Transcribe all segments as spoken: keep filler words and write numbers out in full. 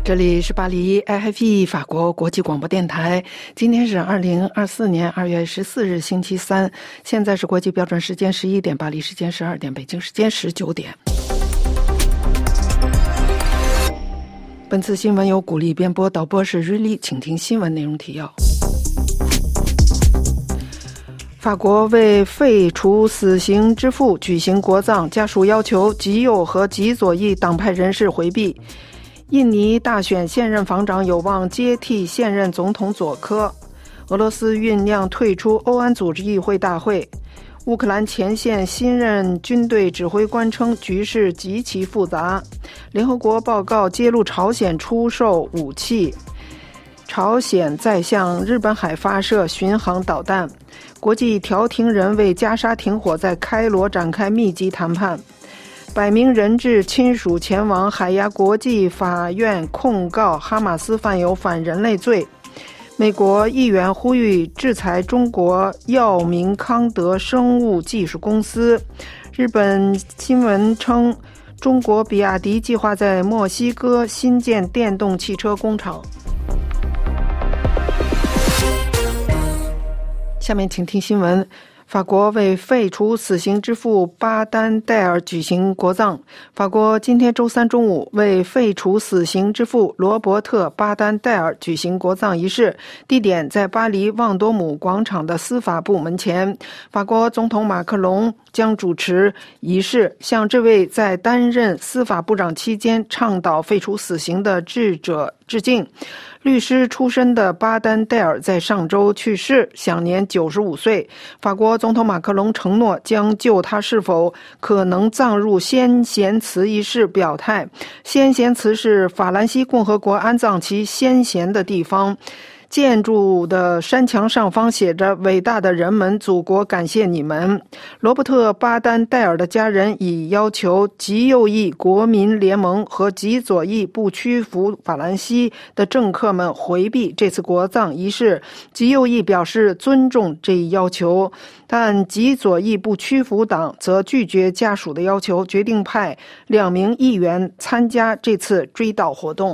这里是巴黎 I F E 法国国际广播电台，今天是二零二四年二月十四日星期三，现在是国际标准时间十一点，巴黎时间十二点，北京时间十九点。本次新闻由古力编播，导播是瑞丽，请听新闻内容提要。法国为废除死刑之父举行国葬，家属要求极右和极左翼党派人士回避。印尼大选现任防长有望接替现任总统佐科。俄罗斯酝酿退出欧安组织议会大会。乌克兰前线新任军队指挥官称局势极其复杂。联合国报告揭露朝鲜出售武器。朝鲜再向日本海发射巡航导弹。国际调停人为加沙停火在开罗展开密集谈判。百名人质亲属前往海牙国际法院控告哈马斯犯有反人类罪。美国议员呼吁制裁中国药明康德生物技术公司。日本新闻称，中国比亚迪计划在墨西哥新建电动汽车工厂。下面请听新闻。法国为废除死刑之父巴丹戴尔举行国葬。法国今天周三中午为废除死刑之父罗伯特巴丹戴尔举行国葬仪式，地点在巴黎旺多姆广场的司法部门前。法国总统马克龙将主持仪式，向这位在担任司法部长期间倡导废除死刑的智者致敬。律师出身的巴丹戴尔在上周去世，享年九十五岁。法国总统马克龙承诺将就他是否可能葬入先贤祠一事表态。先贤祠是法兰西共和国安葬其先贤的地方。建筑的山墙上方写着伟大的人们，祖国感谢你们。罗伯特巴丹戴尔的家人已要求极右翼国民联盟和极左翼不屈服法兰西的政客们回避这次国葬仪式。极右翼表示尊重这一要求，但极左翼不屈服党则拒绝家属的要求，决定派两名议员参加这次追悼活动。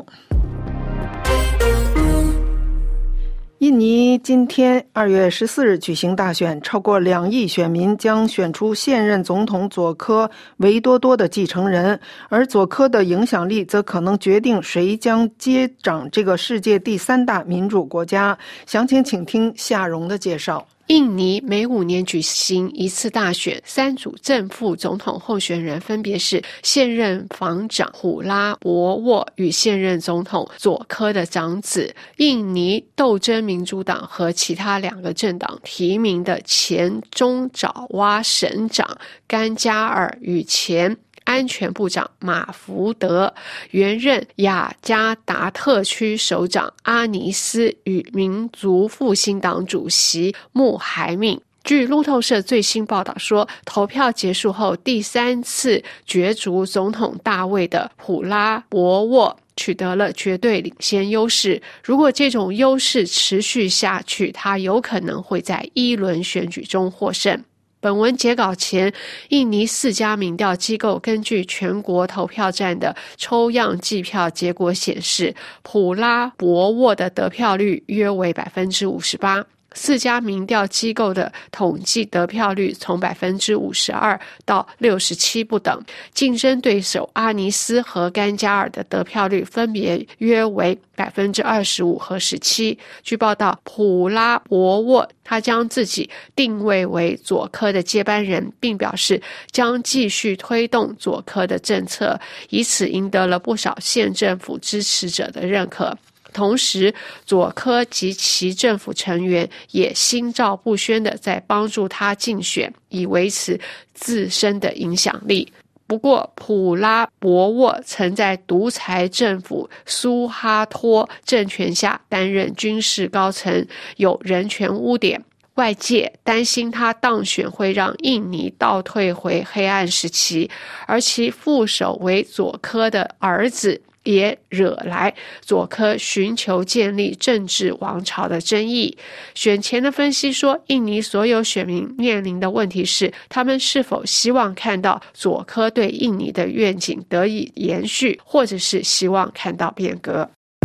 印尼今天二月十四日举行大选，超过两亿选民将选出现任总统佐科维多多的继承人，而佐科的影响力则可能决定谁将接掌这个世界第三大民主国家。详情请听夏蓉的介绍。 印尼每五年举行一次大选，三组正副总统候选人分别是现任防长虎拉博沃与现任总统佐科的长子，印尼斗争民主党和其他两个政党提名的前中爪哇省长甘加尔与前安全部长马福德，原任雅加达特区首长阿尼斯与民族复兴党主席穆海敏。据路透社最新报道说，投票结束后，第三次角逐总统大位的普拉博沃取得了绝对领先优势。如果这种优势持续下去，他有可能会在一轮选举中获胜。本文截稿前，印尼四家民调机构根据全国投票站的抽样计票结果显示，普拉博沃的得票率约为 百分之五十八。四家民调机构的统计得票率从 百分之五十二 到六十七不等，竞争对手阿尼斯和甘加尔的得票率分别约为 百分之二十五 和十七。据报道，普拉博沃他将自己定位为佐科的接班人，并表示将继续推动佐科的政策，以此赢得了不少县政府支持者的认可。同时，佐科及其政府成员也心照不宣地在帮助他竞选，以维持自身的影响力。不过，普拉博沃曾在独裁政府苏哈托政权下担任军事高层，有人权污点。外界担心他当选会让印尼倒退回黑暗时期，而其副手为佐科的儿子也惹来佐科寻求建立政治王朝的争议。选前的分析说，印尼所有选民面临的问题是，他们是否希望看到佐科对印尼的愿景得以延续，或者是希望看到变革。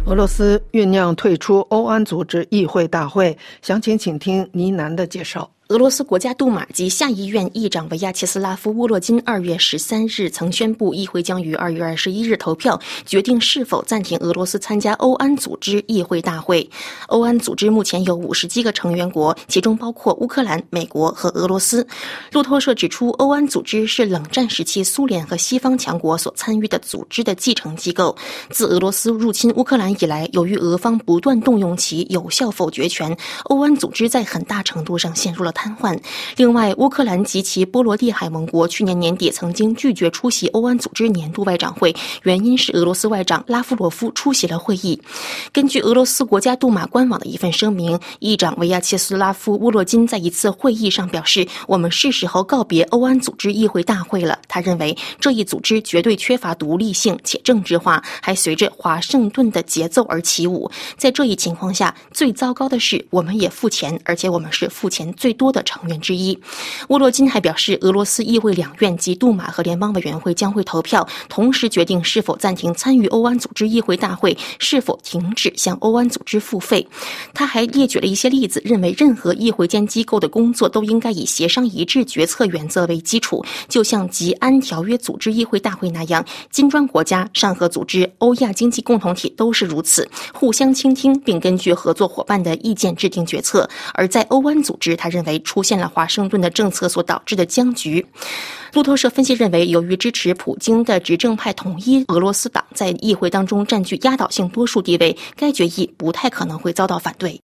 俄罗斯酝酿退出欧安组织议会大会，详情请听倪楠的介绍。 俄罗斯国家杜马及下议院议长维亚切斯拉夫·沃洛金二月十三日曾宣布，议会将于二月二十一日投票，决定是否暂停俄罗斯参加欧安组织议会大会。欧安组织目前有五十七个成员国，其中包括乌克兰、美国和俄罗斯。路透社指出，欧安组织是冷战时期苏联和西方强国所参与的组织的继承机构。自俄罗斯入侵乌克兰以来，由于俄方不断动用其有效否决权，欧安组织在很大程度上陷入了瘫痪。另外，乌克兰及其波罗的海盟国去年年底曾经拒绝出席欧安组织年度外长会，原因是俄罗斯外长拉夫罗夫出席了会议。根据俄罗斯国家杜马官网的一份声明，议长维亚切斯拉夫·沃洛金在一次会议上表示，我们是时候告别欧安组织议会大会了。他认为这一组织绝对缺乏独立性且政治化，还随着华盛顿的节奏而起舞。在这一情况下，最糟糕的是我们也付钱，而且我们是付钱最多的成员之一。沃洛金还表示，俄罗斯议会两院及杜马和联邦委员会将会投票，同时决定是否暂停参与欧安组织议会大会，是否停止向欧安组织付费。他还列举了一些例子，认为任何议会间机构的工作都应该以协商一致决策原则为基础，就像吉安条约组织议会大会那样，金砖国家、上合组织、欧亚经济共同体都是如此，互相倾听并根据合作伙伴的意见制定决策。而在欧安组织，他认为出现了华盛顿的政策所导致的僵局。路透社分析认为，由于支持普京的执政派统一俄罗斯党在议会当中占据压倒性多数地位，该决议不太可能会遭到反对。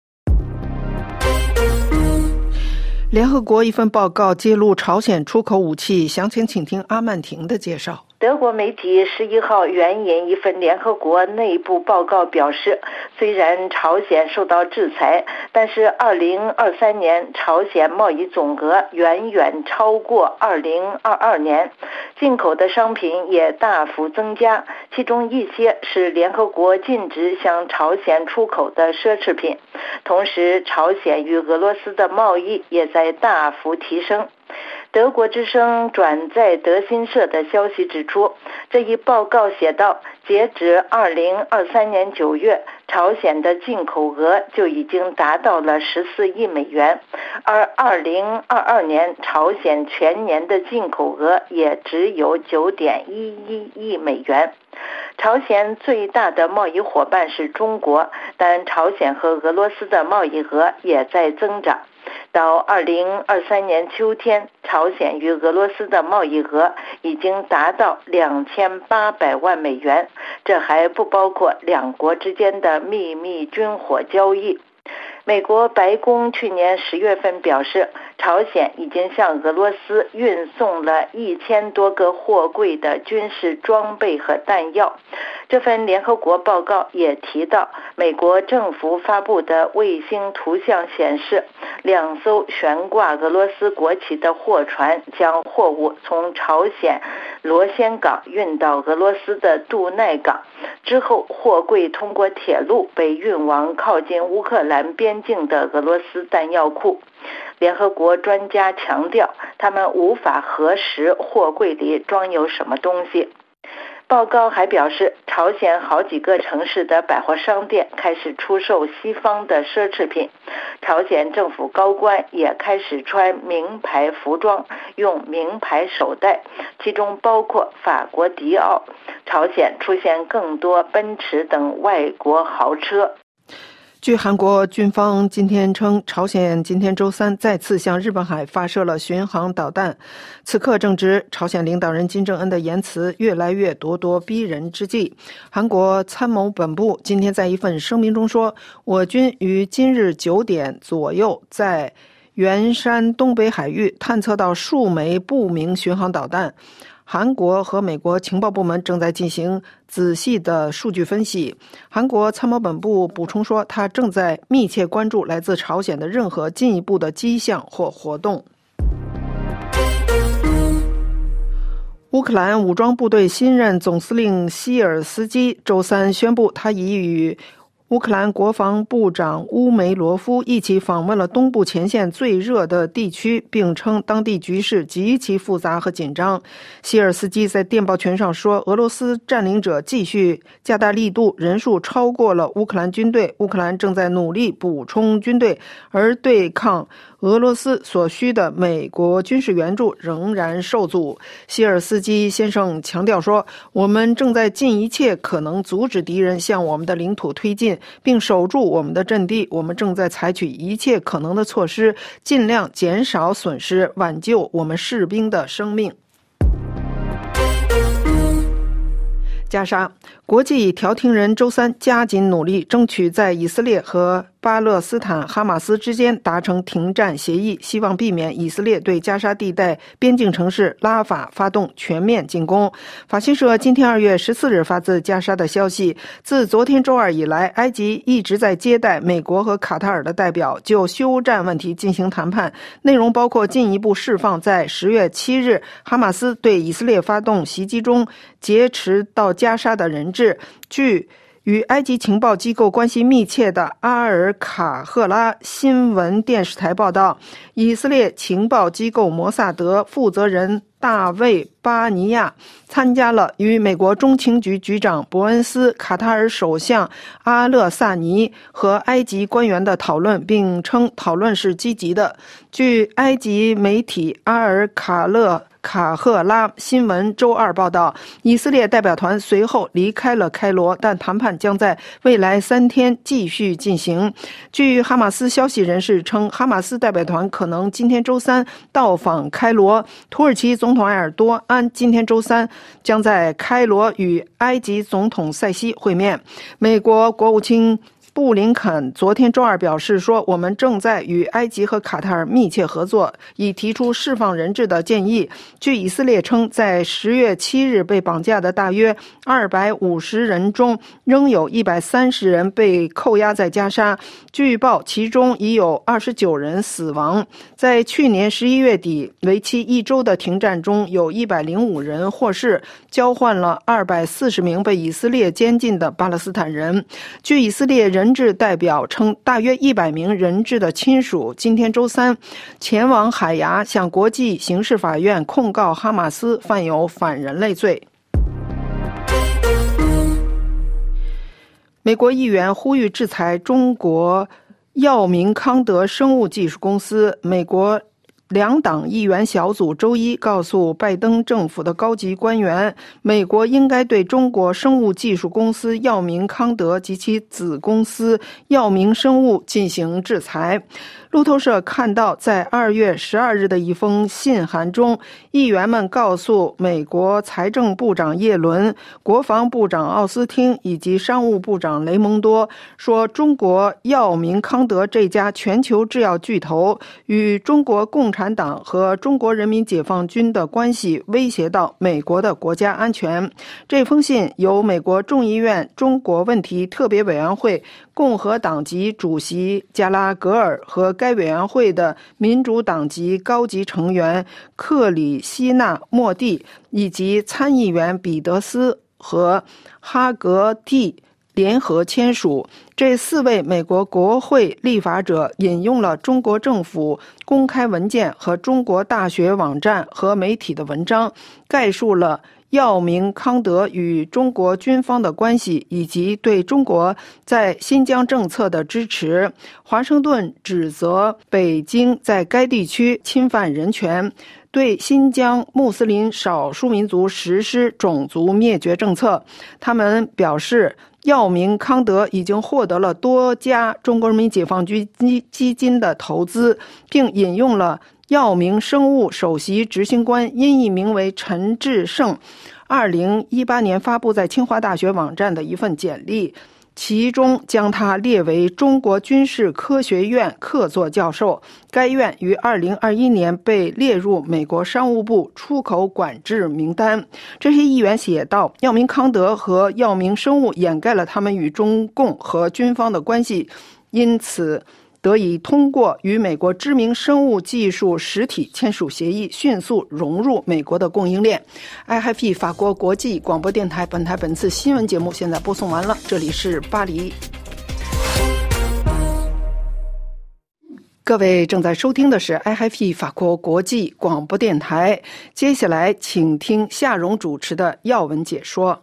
联合国一份报告揭露朝鲜出口武器，详情请听阿曼婷的介绍。 德国媒体十一号援引一份联合国内部报告表示，虽然朝鲜受到制裁，但是二零二三年朝鲜贸易总额远远超过二零二二年，进口的商品也大幅增加，其中一些是联合国禁止向朝鲜出口的奢侈品。同时，朝鲜与俄罗斯的贸易也在大幅提升。德国之声转载德新社的消息指出，这一报告写道，截止二零二三年九月，朝鲜的进口额就已经达到了十四亿美元，而二零二二年朝鲜全年的进口额也只有九点一一亿美元。朝鲜最大的贸易伙伴是中国，但朝鲜和俄罗斯的贸易额也在增长。到二零二三年秋天，朝鲜与俄罗斯的贸易额已经达到两千八百万美元，这还不包括两国之间的秘密军火交易。美国白宫去年十月份表示，朝鲜已经向俄罗斯运送了一千多个货柜的军事装备和弹药。这份联合国报告也提到，美国政府发布的卫星图像显示，两艘悬挂俄罗斯国旗的货船将货物从朝鲜罗先港运到俄罗斯的杜奈港，之后货柜通过铁路被运往靠近乌克兰边境的俄罗斯弹药库。联合国专家强调，他们无法核实货柜里装有什么东西。报告还表示，朝鲜好几个城市的百货商店开始出售西方的奢侈品，朝鲜政府高官也开始穿名牌服装，用名牌手袋，其中包括法国迪奥。朝鲜出现更多奔驰等外国豪车。 据韩国军方今天称，朝鲜今天周三再次向日本海发射了巡航导弹。此刻正值朝鲜领导人金正恩的言辞越来越咄咄逼人之际。韩国参谋本部今天在一份声明中说，我军于今日九点左右在元山东北海域探测到数枚不明巡航导弹。韩国和美国情报部门正在进行仔细的数据分析。韩国参谋本部补充说，他正在密切关注来自朝鲜的任何进一步的迹象或活动。乌克兰武装部队新任总司令希尔斯基周三宣布，他已与乌克兰国防部长乌梅罗夫一起访问了东部前线最热的地区，并称当地局势极其复杂和紧张。希尔斯基在电报群上说，俄罗斯占领者继续加大力度，人数超过了乌克兰军队，乌克兰正在努力补充军队，而对抗俄罗斯所需的美国军事援助仍然受阻。希尔斯基先生强调说，我们正在尽一切可能阻止敌人向我们的领土推进，并守住我们的阵地。我们正在采取一切可能的措施，尽量减少损失，挽救我们士兵的生命。加沙国际调停人周三加紧努力，争取在以色列和巴勒斯坦哈马斯之间达成停战协议，希望避免以色列对加沙地带边境城市拉法发动全面进攻。法新社今天二月十四日发自加沙的消息，自昨天周二以来，埃及一直在接待美国和卡塔尔的代表，就休战问题进行谈判，内容包括进一步释放在十月七日哈马斯对以色列发动袭击中劫持到加沙的人质。据与埃及情报机构关系密切的阿尔卡赫拉新闻电视台报道，以色列情报机构摩萨德负责人大卫·巴尼亚参加了与美国中情局局长伯恩斯、卡塔尔首相阿勒萨尼和埃及官员的讨论，并称讨论是积极的。据埃及媒体阿尔卡勒卡赫拉新闻周二报道，以色列代表团随后离开了开罗，但谈判将在未来三天继续进行。据哈马斯消息人士称，哈马斯代表团可能今天周三到访开罗。土耳其总统埃尔多安今天周三将在开罗与埃及总统塞西会面。美国国务卿布林肯昨天周二表示说，我们正在与埃及和卡塔尔密切合作，以提出释放人质的建议。据以色列称，在十月七日被绑架的大约二百五十人中，仍有一百三十人被扣押在加沙，据报其中已有二十九人死亡。在去年十一月底为期一周的停战中，有一百零五人获释，交换了二百四十名被以色列监禁的巴勒斯坦人。据以色列人质代表称，大约一百名人质的亲属今天周三前往海牙，向国际刑事法院控告哈马斯犯有反人类罪。美国议员呼吁制裁中国药明康德生物技术公司。美国两党议员小组周一告诉拜登政府的高级官员，美国应该对中国生物技术公司药明康德及其子公司药明生物进行制裁。路透社看到，在二月十二日的一封信函中，议员们告诉美国财政部长耶伦、国防部长奥斯汀以及商务部长雷蒙多说，中国药明康德这家全球制药巨头与中国共产党和中国人民解放军的关系威胁到美国的国家安全。这封信由美国众议院中国问题特别委员会共和党籍主席加拉格尔和该委员会的民主党籍高级成员克里希纳莫蒂以及参议员彼得斯和哈格蒂联合签署。这四位美国国会立法者引用了中国政府公开文件和中国大学网站和媒体的文章，概述了药明康德与中国军方的关系，以及对中国在新疆政策的支持。华盛顿指责北京在该地区侵犯人权，对新疆穆斯林少数民族实施种族灭绝政策。他们表示，药明康德已经获得了多家中国人民解放军基金的投资，并引用了药明生物首席执行官因译名为陈志胜二零一八年发布在清华大学网站的一份简历，其中将他列为中国军事科学院客座教授。该院于二零二一年被列入美国商务部出口管制名单。这些议员写道，药明康德和药明生物掩盖了他们与中共和军方的关系，因此得以通过与美国知名生物技术实体签署协议，迅速融入美国的供应链。I F P 法国国际广播电台本台本次新闻节目现在播送完了，这里是巴黎。 各位正在收听的是 I F P 法国国际广播电台，接下来请听夏蓉主持的要闻解说。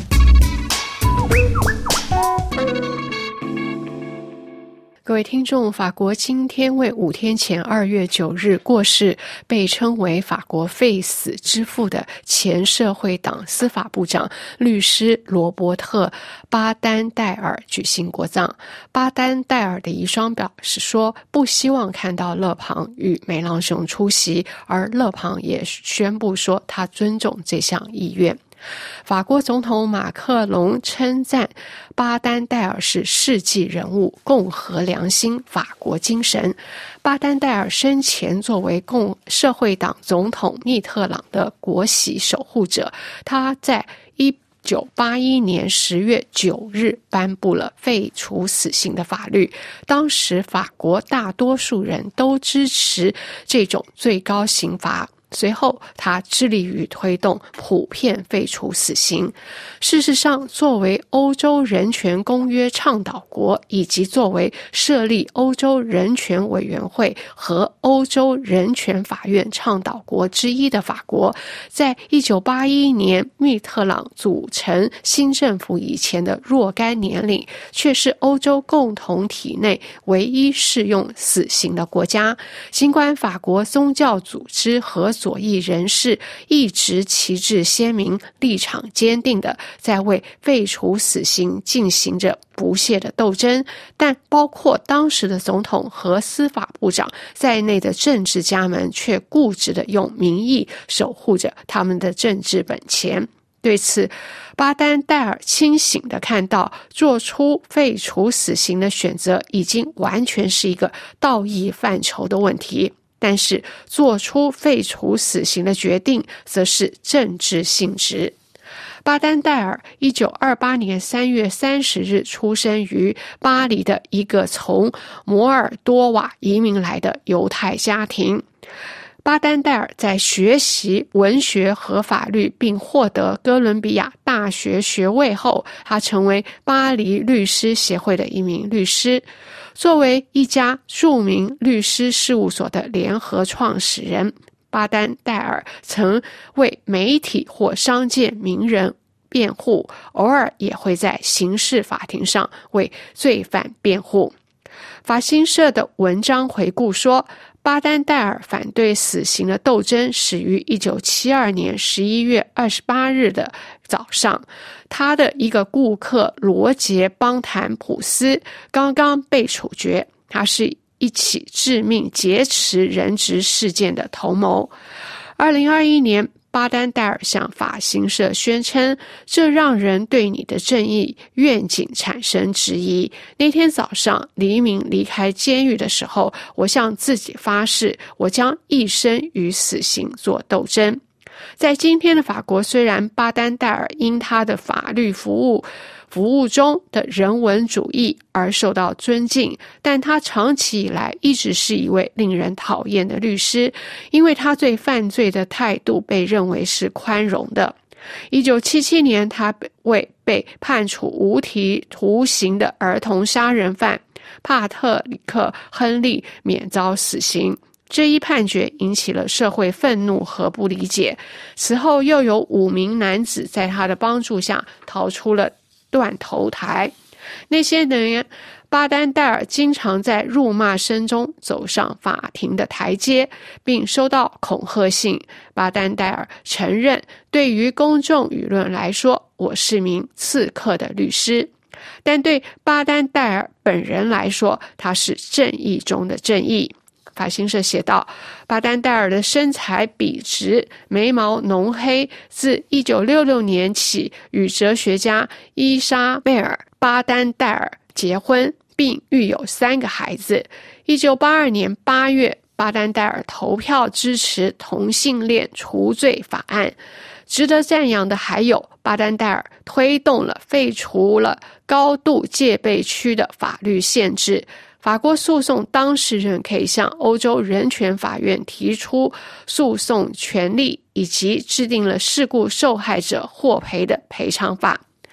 各位听众，法国今天为五天前二月九日过世，被称为法国废死之父的前社会党司法部长律师罗伯特·巴丹戴尔举行国葬。巴丹戴尔的遗孀表示说，不希望看到勒庞与梅朗雄出席，而勒庞也宣布说他尊重这项意愿。法国总统马克龙称赞巴丹戴尔是世纪人物，共和良心，法国精神。巴丹戴尔生前作为共社会党总统密特朗的国玺守护者，他在一九八一年十月九日颁布了废除死刑的法律。当时法国大多数人都支持这种最高刑罚。随后他致力于推动普遍废除死刑。事实上，作为欧洲人权公约倡导国，以及作为设立欧洲人权委员会和欧洲人权法院倡导国之一的法国，在一九八一年密特朗组成新政府以前的若干年里，却是欧洲共同体内唯一适用死刑的国家。尽管法国宗教组织和左翼人士一直旗帜鲜明，立场坚定地在为废除死刑进行着不懈的斗争，但包括当时的总统和司法部长在内的政治家们却固执地用民意守护着他们的政治本钱。对此，巴丹戴尔清醒地看到，做出废除死刑的选择已经完全是一个道义范畴的问题，但是做出废除死刑的决定则是政治性质。巴丹戴尔一九二八年三月三十日出生于巴黎的一个从摩尔多瓦移民来的犹太家庭。巴丹戴尔在学习文学和法律并获得哥伦比亚大学学位后，他成为巴黎律师协会的一名律师。作为一家著名律师事务所的联合创始人，巴丹戴尔曾为媒体或商界名人辩护，偶尔也会在刑事法庭上为罪犯辩护。法新社的文章回顾说，巴丹戴尔反对死刑的斗争始于一九七二年十一月二十八日的早上。他的一个顾客罗杰·邦坦普斯刚刚被处决，他是一起致命劫持人质事件的头谋。二零二一年，巴丹戴尔向法新社宣称，这让人对你的正义愿景产生质疑。那天早上，黎明离开监狱的时候，我向自己发誓，我将一生与死刑做斗争。在今天的法国，虽然巴丹戴尔因他的法律服务服务中的人文主义而受到尊敬，但他长期以来一直是一位令人讨厌的律师，因为他对犯罪的态度被认为是宽容的。一九七七年，他为被判处无期徒刑的儿童杀人犯帕特里克·亨利免遭死刑。这一判决引起了社会愤怒和不理解。此后又有五名男子在他的帮助下逃出了断头台。那些年，巴丹戴尔经常在辱骂声中走上法庭的台阶，并收到恐吓信。巴丹戴尔承认，对于公众舆论来说，我是名刺客的律师。但对巴丹戴尔本人来说，他是正义中的正义。法新社写道，巴丹戴尔的身材笔直，眉毛浓黑，自一九六六年起与哲学家伊莎贝尔·巴丹戴尔结婚，并育有三个孩子。一九八二年八月，巴丹戴尔投票支持同性恋除罪法案。值得赞扬的还有，巴丹戴尔推动了废除了高度戒备区的法律限制。法国诉讼当事人可以向欧洲人权法院提出诉讼权利，以及制定了事故受害者获赔的赔偿法。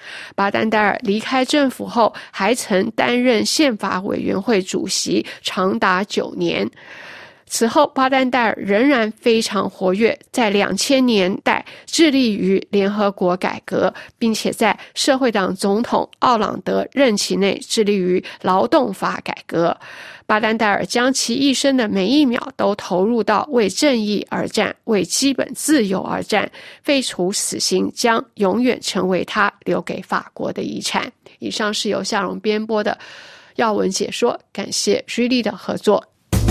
巴丹戴尔离开政府后，还曾担任宪法委员会主席，长达九年。此后，巴丹戴尔仍然非常活跃，在两千年代致力于联合国改革，并且在社会党总统奥朗德任期内致力于劳动法改革。巴丹戴尔将其一生的每一秒都投入到为正义而战、为基本自由而战。废除死刑将永远成为他留给法国的遗产。以上是由夏蓉编播的要闻解说，感谢瑞丽的合作。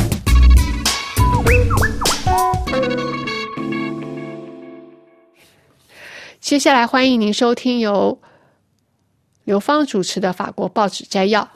接下来欢迎您收听由刘芳主持的法国报纸摘要。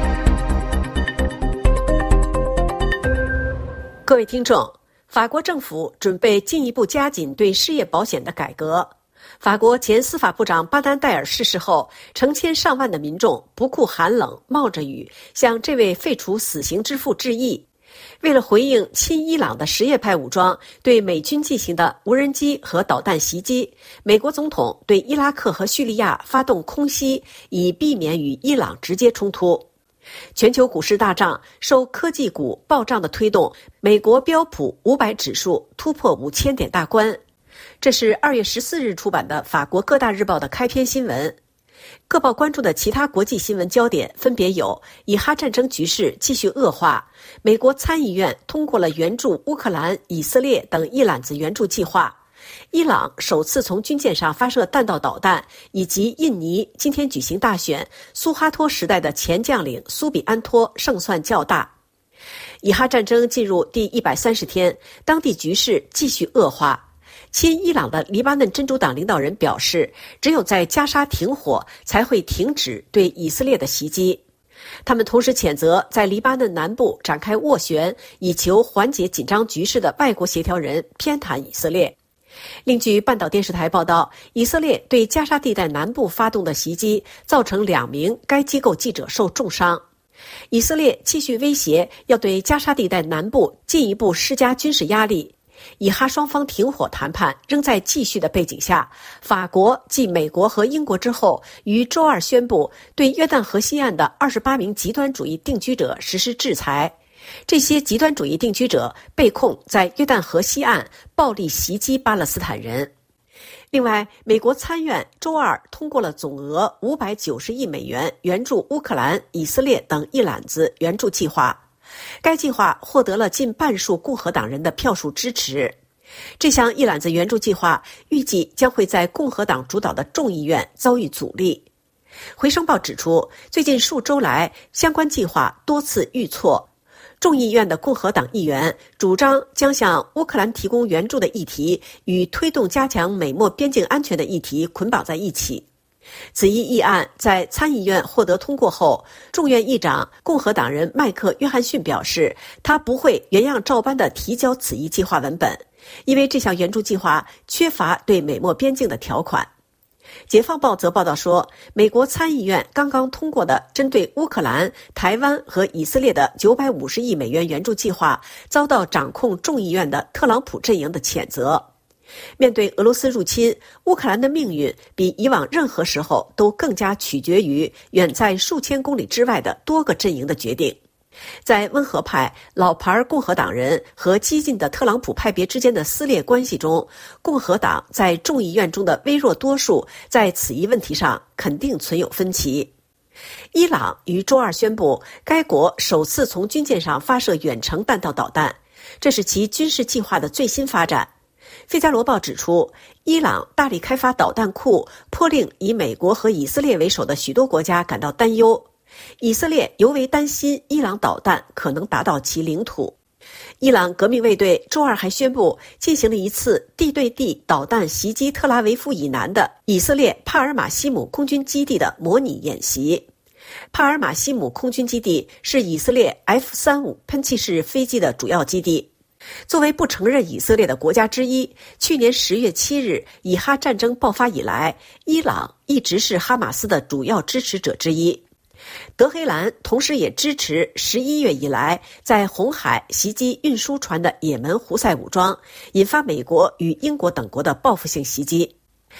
各位听众，法国政府准备进一步加紧对失业保险的改革。法国前司法部长巴丹戴尔逝世后，成千上万的民众不顾寒冷，冒着雨向这位废除死刑之父致意。为了回应亲伊朗的什叶派武装对美军进行的无人机和导弹袭击，美国总统对伊拉克和叙利亚发动空袭，以避免与伊朗直接冲突。全球股市大涨，受科技股暴涨的推动，美国标普五百指数突破五千点大关。这是二月十四日出版的法国各大日报的开篇新闻。各报关注的其他国际新闻焦点分别有：以哈战争局势继续恶化，美国参议院通过了援助乌克兰、以色列等一揽子援助计划，伊朗首次从军舰上发射弹道导弹，以及印尼今天举行大选，苏哈托时代的前将领苏比安托胜算较大。以哈战争进入第一百三十天，当地局势继续恶化。亲伊朗的黎巴嫩真主党领导人表示，只有在加沙停火，才会停止对以色列的袭击。他们同时谴责在黎巴嫩南部展开斡旋，以求缓解紧张局势的外国协调人偏袒以色列。另据半岛电视台报道，以色列对加沙地带南部发动的袭击，造成两名该机构记者受重伤。以色列继续威胁要对加沙地带南部进一步施加军事压力。以哈双方停火谈判仍在继续的背景下，法国继美国和英国之后，于周二宣布对约旦河西岸的二十八名极端主义定居者实施制裁。这些极端主义定居者被控在约旦河西岸暴力袭击巴勒斯坦人。另外，美国参院周二通过了总额五百九十亿美元援助乌克兰、以色列等一揽子援助计划。该计划获得了近半数共和党人的票数支持。这项一揽子援助计划预计将会在共和党主导的众议院遭遇阻力。回声报指出，最近数周来，相关计划多次遇挫。众议院的共和党议员主张将向乌克兰提供援助的议题与推动加强美墨边境安全的议题捆绑在一起。此一议案在参议院获得通过后，众院议长共和党人麦克·约翰逊表示，他不会原样照搬地提交此一计划文本，因为这项援助计划缺乏对美墨边境的条款。解放报则报道说，美国参议院刚刚通过的针对乌克兰、台湾和以色列的九百五十亿美元援助计划遭到掌控众议院的特朗普阵营的谴责。面对俄罗斯入侵，乌克兰的命运比以往任何时候都更加取决于远在数千公里之外的多个阵营的决定。在温和派、老牌共和党人和激进的特朗普派别之间的撕裂关系中，共和党在众议院中的微弱多数在此一问题上肯定存有分歧。伊朗于周二宣布，该国首次从军舰上发射远程弹道导弹，这是其军事计划的最新发展。《费加罗报》指出，伊朗大力开发导弹库，颇令以美国和以色列为首的许多国家感到担忧。以色列尤为担心伊朗导弹可能达到其领土。伊朗革命卫队周二还宣布进行了一次地对地导弹袭击特拉维夫以南的以色列帕尔马西姆空军基地的模拟演习。帕尔马西姆空军基地是以色列 F 三十五 喷气式飞机的主要基地。作为不承认以色列的国家之一，去年十月七日以哈战争爆发以来，伊朗一直是哈马斯的主要支持者之一。德黑兰同时也支持十一月以来在红海袭击运输船的也门胡塞武装，引发美国与英国等国的报复性袭击。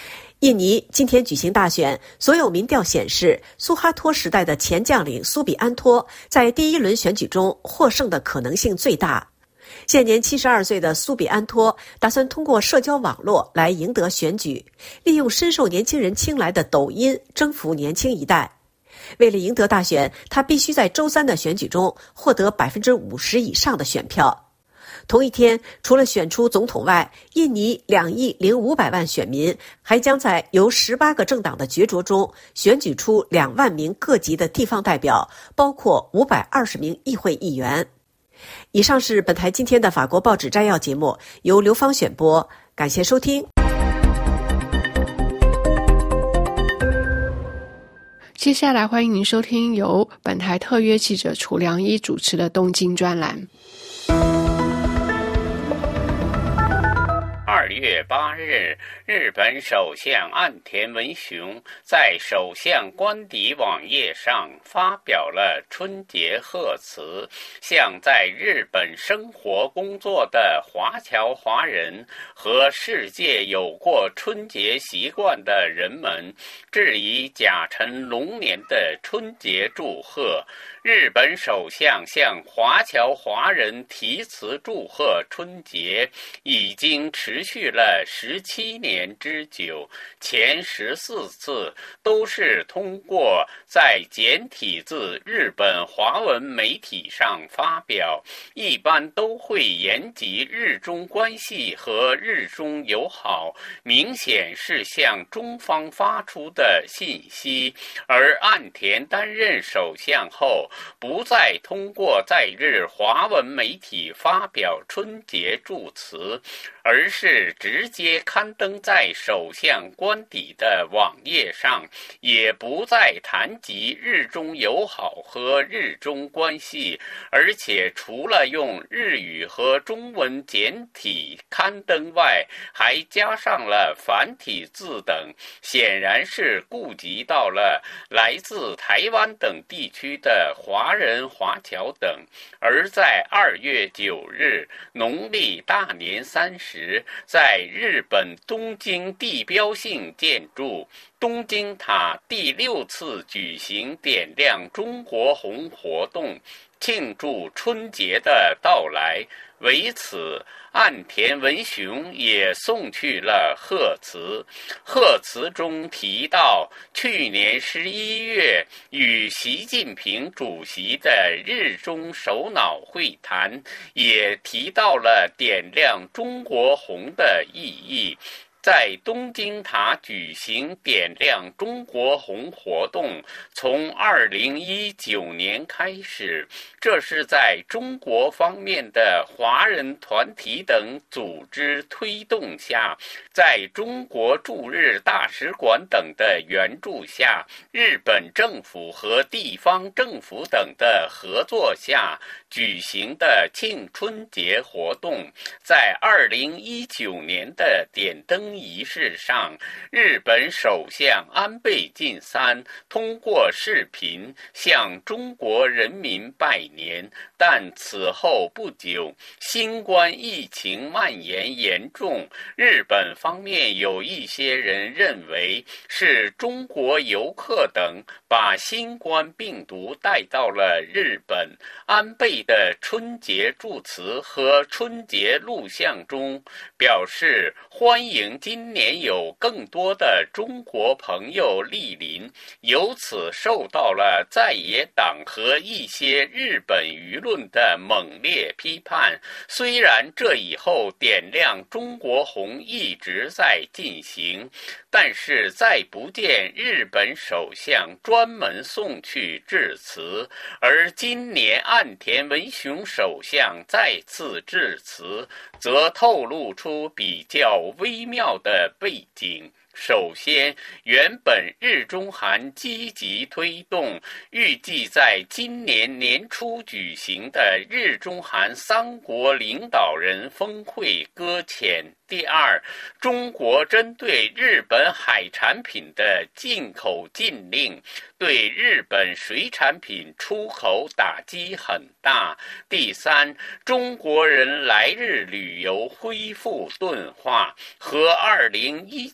印尼今天举行大选，所有民调显示，苏哈托时代的前将领苏比安托在第一轮选举中获胜的可能性最大。现年七十二岁的苏比安托打算通过社交网络来赢得选举，利用深受年轻人青睐的抖音征服年轻一代。为了赢得大选，他必须在周三的选举中获得百分之五十以上的选票。同一天，除了选出总统外，印尼两亿零五百万选民还将在由十八个政党的角逐中选举出两万名各级的地方代表，包括五百二十名议会议员。以上是本台今天的法国报纸摘要节目，由刘芳选播，感谢收听。 接下来欢迎您收听由本台特约记者楚良一主持的东京专栏。 二月八日，日本首相岸田文雄在首相官邸网页上发表了春节贺词，向在日本生活工作的华侨华人和世界有过春节习惯的人们致以甲辰龙年的春节祝贺。日本首相向华侨华人题词祝贺春节已经持续了十七年之久，前十四次都是通过在简体字日本华文媒体上发表，一般都会言及日中关系和日中友好，明显是向中方发出的信息。而岸田担任首相后，不再通过在日华文媒体发表春节祝词，而是直接刊登在首相官邸的网页上，也不再谈及日中友好和日中关系，而且除了用日语和中文简体刊登外，还加上了繁体字等，显然是顾及到了来自台湾等地区的华人华侨等。而在二月九日农历大年三十，在日本东京地标性建筑东京塔第六次举行点亮中国红活动，庆祝春节的到来。为此，岸田文雄也送去了贺词。贺词中提到，去年十一月与习近平主席的日中首脑会谈，也提到了点亮中国红的意义。在东京塔举行点亮中国红活动，从二零一九年开始，这是在中国方面的华人团体等组织推动下，在中国驻日大使馆等的援助下，日本政府和地方政府等的合作下举行的庆春节活动。在二零一九年的点灯仪式上，日本首相安倍晋三通过视频向中国人民拜年，但此后不久，新冠疫情蔓延严重，日本方面有一些人认为是中国游客等把新冠病毒带到了日本。安倍的春节祝词和春节录像中表示欢迎今年有更多的中国朋友莅临，由此受到了在野党和一些日本舆论的猛烈批判。虽然这以后点亮中国红一直在进行，但是再不见日本首相专门送去致辞，而今年岸田文雄首相再次致辞，则透露出比较微妙的背景。首先，原本日中韩积极推动，预计在今年年初举行的日中韩三国领导人峰会搁浅。第二，中国针对日本海产品的进口禁令，对日本水产品出口打击很大。第三，中国人来日旅游恢复钝化，和二零一九年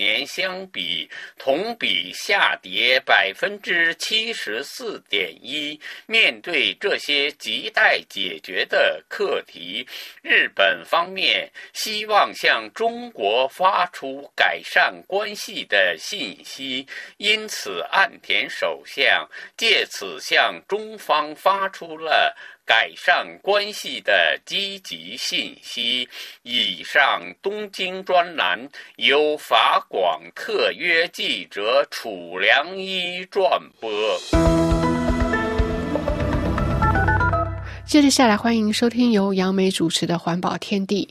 年相比，同比下跌百分之七十四点一。面对这些亟待解决的课题，日本方面希望向中国发出改善关系的信息，因此岸田首相借此向中方发出了改善关系的积极信息。以上东京专栏由法广特约记者楚良一转播。 接着下来，欢迎收听由杨梅主持的《环保天地》。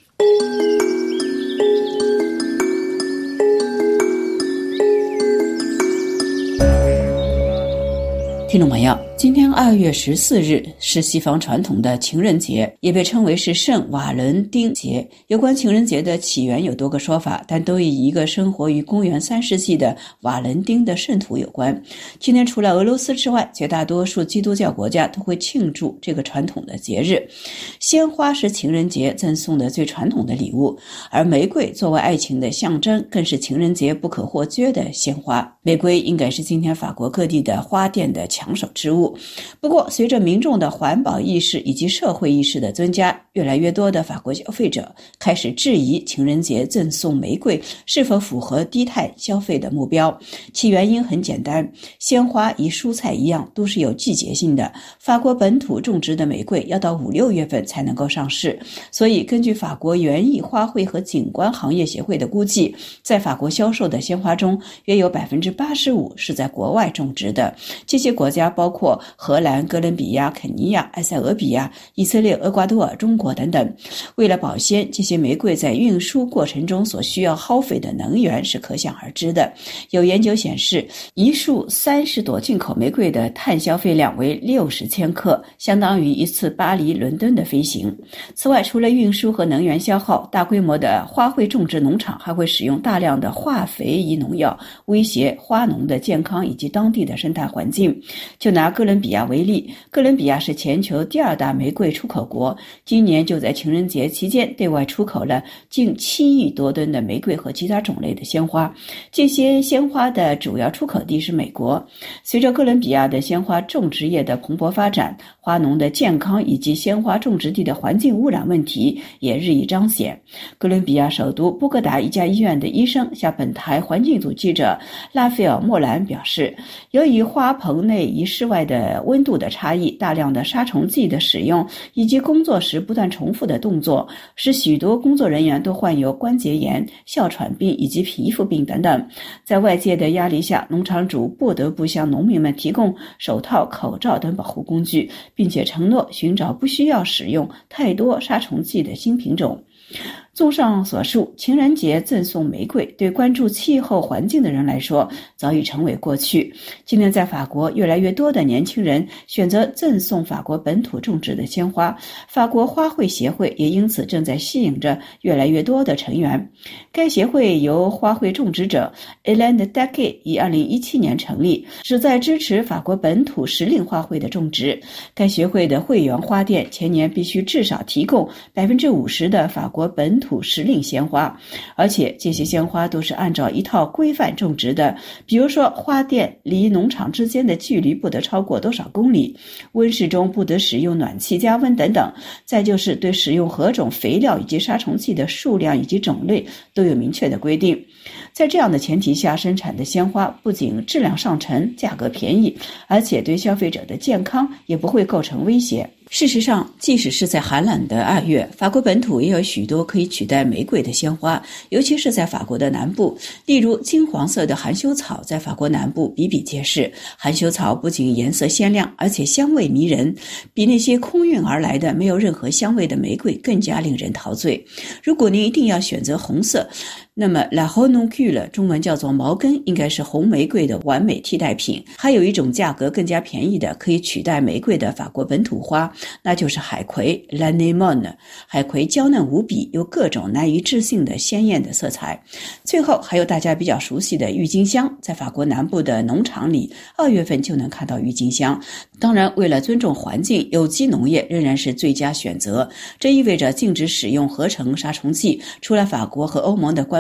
听众朋友，今天二月十四日是西方传统的情人节，也被称为是圣瓦伦丁节。有关情人节的起源有多个说法，但都与一个生活于公元三世纪的瓦伦丁的圣徒有关。今天除了俄罗斯之外，绝大多数基督教国家都会庆祝这个传统的节日。鲜花是情人节赠送的最传统的礼物，而玫瑰作为爱情的象征，更是情人节不可或缺的鲜花。玫瑰应该是今天法国各地的花店的抢手之物。不过，随着民众的环保意识以及社会意识的增加，越来越多的法国消费者开始质疑情人节赠送玫瑰是否符合低碳消费的目标。其原因很简单，鲜花与蔬菜一样都是有季节性的，法国本土种植的玫瑰要到五六月份才能够上市，所以根据法国园艺花卉和景观行业协会的估计，在法国销售的鲜花中约有 百分之八十五 是在国外种植的。这些国家包括荷兰、哥伦比亚、肯尼亚、埃塞俄比亚、以色列、厄瓜多尔、中国等等。为了保鲜，这些玫瑰在运输过程中所需要耗费的能源是可想而知的。有研究显示，一束三十朵进口玫瑰的碳消费量为六十千克，相当于一次巴黎伦敦的飞行。此外，除了运输和能源消耗，大规模的花卉种植农场还会使用大量的化肥与农药，威胁花农的健康以及当地的生态环境。就拿哥伦比亚为例，哥伦比亚是全球第二大玫瑰出口国，今年就在情人节期间对外出口了近七亿多吨的玫瑰和其他种类的鲜花。这些鲜花的主要出口地是美国。随着哥伦比亚的鲜花种植业的蓬勃发展，花农的健康以及鲜花种植地的环境污染问题也日益彰显。哥伦比亚首都波哥达一家医院的医生向本台环境组记者拉斐尔·莫兰表示，由于花棚内与室外的温度的差异，大量的杀虫剂的使用以及工作时不断重复的动作，使许多工作人员都患有关节炎、哮喘病以及皮肤病等等。在外界的压力下，农场主不得不向农民们提供手套、口罩等保护工具，并且承诺寻找不需要使用太多杀虫剂的新品种。综上所述，情人节赠送玫瑰对关注气候环境的人来说早已成为过去。今天在法国，越来越多的年轻人选择赠送法国本土种植的鲜花，法国花卉协会也因此正在吸引着越来越多的成员。该协会由花卉种植者 Hélène Daquet 于二零一七年成立，旨在支持法国本土时令花卉的种植。该协会的会员花店前年必须至少提供 百分之五十 的法国本土时令鲜花，而且这些鲜花都是按照一套规范种植的，比如说花店离农场之间的距离不得超过多少公里，温室中不得使用暖气加温等等。再就是对使用何种肥料以及杀虫剂的数量以及种类都有明确的规定。在这样的前提下生产的鲜花不仅质量上乘、价格便宜，而且对消费者的健康也不会构成威胁。事实上，即使是在寒冷的二月，法国本土也有许多可以取代玫瑰的鲜花，尤其是在法国的南部。例如金黄色的含羞草在法国南部比比皆是，含羞草不仅颜色鲜亮，而且香味迷人，比那些空运而来的没有任何香味的玫瑰更加令人陶醉。如果您一定要选择红色，那么 La Renoncule 中文叫做毛根，应该是红玫瑰的完美替代品。还有一种价格更加便宜的可以取代玫瑰的法国本土花，那就是海葵 L'anémone。 海葵娇嫩无比，有各种难以置信的鲜艳的色彩。最后还有大家比较熟悉的郁金香，在法国南部的农场里二月份就能看到郁金香。当然，为了尊重环境，有机农业仍然是最佳选择。这意味着禁止使用合成杀虫剂。除了法国和欧盟的官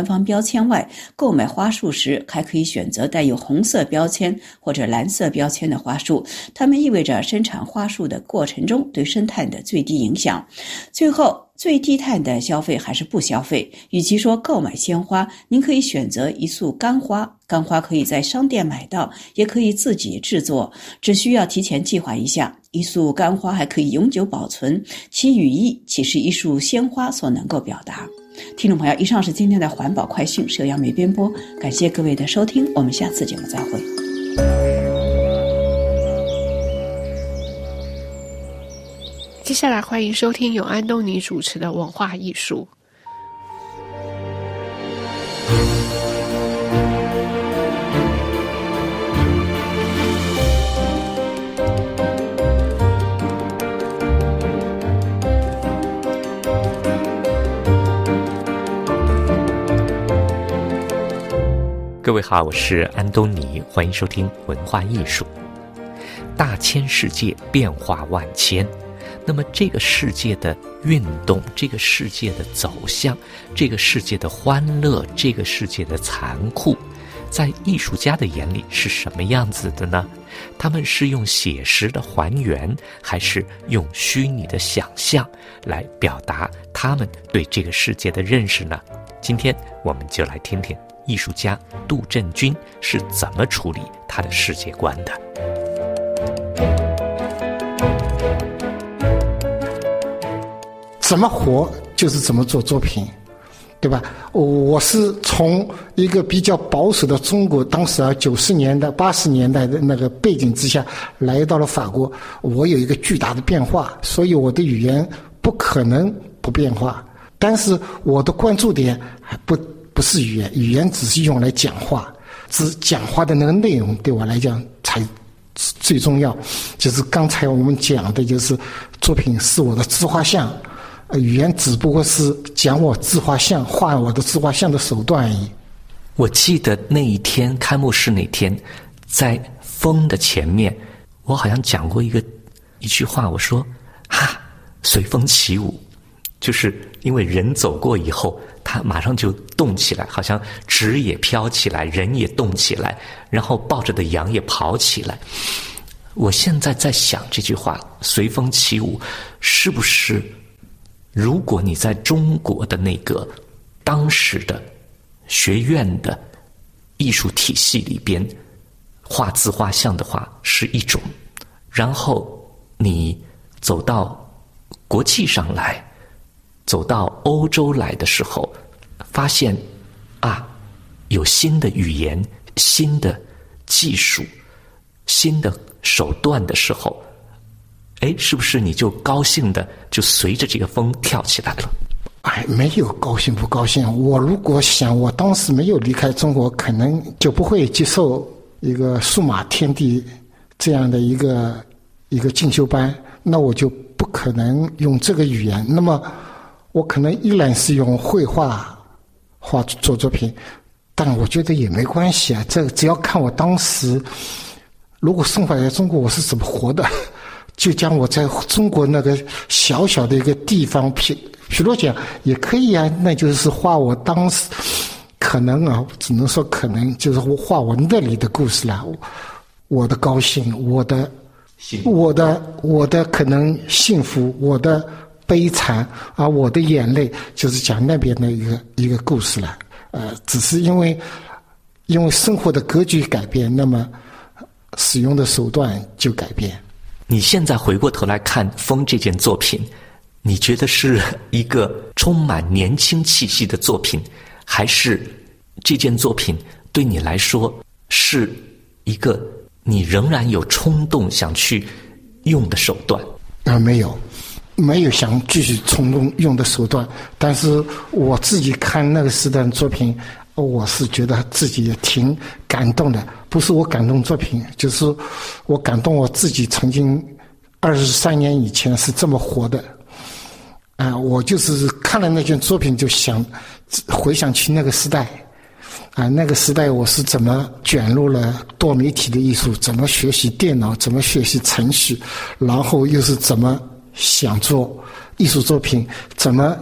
方标签外，购买花束时还可以选择带有红色标签或者蓝色标签的花束，它们意味着生产花束的过程中对生态的最低影响。最后，最低碳的消费还是不消费？与其说购买鲜花，您可以选择一束干花。干花可以在商店买到，也可以自己制作，只需要提前计划一下。一束干花还可以永久保存，其语义岂是一束鲜花所能够表达？听众朋友，以上是今天的环保快讯，是由杨梅编播，感谢各位的收听，我们下次节目再会。 接下来欢迎收听由安东尼主持的文化艺术。 各位好，我是安东尼，欢迎收听文化艺术。大千世界变化万千，那么这个世界的运动，这个世界的走向，这个世界的欢乐，这个世界的残酷，在艺术家的眼里是什么样子的呢？他们是用写实的还原，还是用虚拟的想象来表达他们对这个世界的认识呢？今天我们就来听听艺术家杜振军是怎么处理他的世界观的。 怎么活就是怎么做作品，对吧？我是从一个比较保守的中国，当时啊九十年代、八十年代的那个背景之下，来到了法国，我有一个巨大的变化，所以我的语言不可能不变化。但是我的关注点还不不是语言，语言只是用来讲话，只讲话的那个内容对我来讲才最重要。就是刚才我们讲的，就是作品是我的自画像。语言只不过是讲我自画像、画我的自画像的手段而已。 我记得那一天开幕式那天，在风的前面，我好像讲过一个一句话，我说哈，随风起舞，就是因为人走过以后，它马上就动起来，好像纸也飘起来，人也动起来，然后抱着的羊也跑起来。我现在在想这句话，随风起舞，是不是如果你在中国的那个当时的学院的艺术体系里边画自画像的话是一种，然后你走到国际上来，走到欧洲来的时候，发现啊，有新的语言、新的技术、新的手段的时候，哎，是不是你就高兴的就随着这个风跳起来了？ 哎，没有高兴不高兴。我如果想，我当时没有离开中国，可能就不会接受一个数码天地这样的一个一个进修班，那我就不可能用这个语言。那么我可能依然是用绘画画做作品，但我觉得也没关系啊。这只要看我当时如果生活在中国，我是怎么活的。就将我在中国那个小小的一个地方，譬譬如讲也可以啊，那就是画我当时可能啊，只能说可能就是画我那里的故事了。我的高兴，我的我的我的可能幸福，我的悲惨啊，我的眼泪，就是讲那边的一个一个故事了。呃，只是因为因为生活的格局改变，那么使用的手段就改变。 你现在回过头来看《风》这件作品，你觉得是一个充满年轻气息的作品，还是这件作品对你来说是一个你仍然有冲动想去用的手段？ 啊，没有，没有想继续冲动用的手段。但是我自己看那个时代的作品，我是觉得自己也挺感动的。不是我感动作品，就是我感动我自己曾经二十三年以前是这么活的。啊、呃，我就是看了那件作品就想回想起那个时代。啊、呃，那个时代我是怎么卷入了多媒体的艺术，怎么学习电脑，怎么学习程序，然后又是怎么想做艺术作品，怎么